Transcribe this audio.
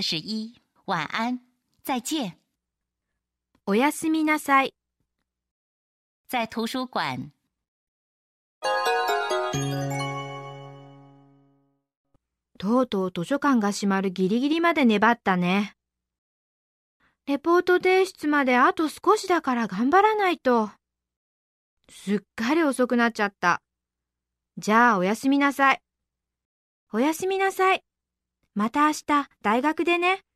41，晚安，再见。 おやすみなさい。 在图书馆。 とうとう図書館が閉まるギリギリまで粘ったね。レポート提出まであと少しだから頑張らないと。すっかり遅くなっちゃった。じゃあおやすみなさい。おやすみなさい。また明日大学でね。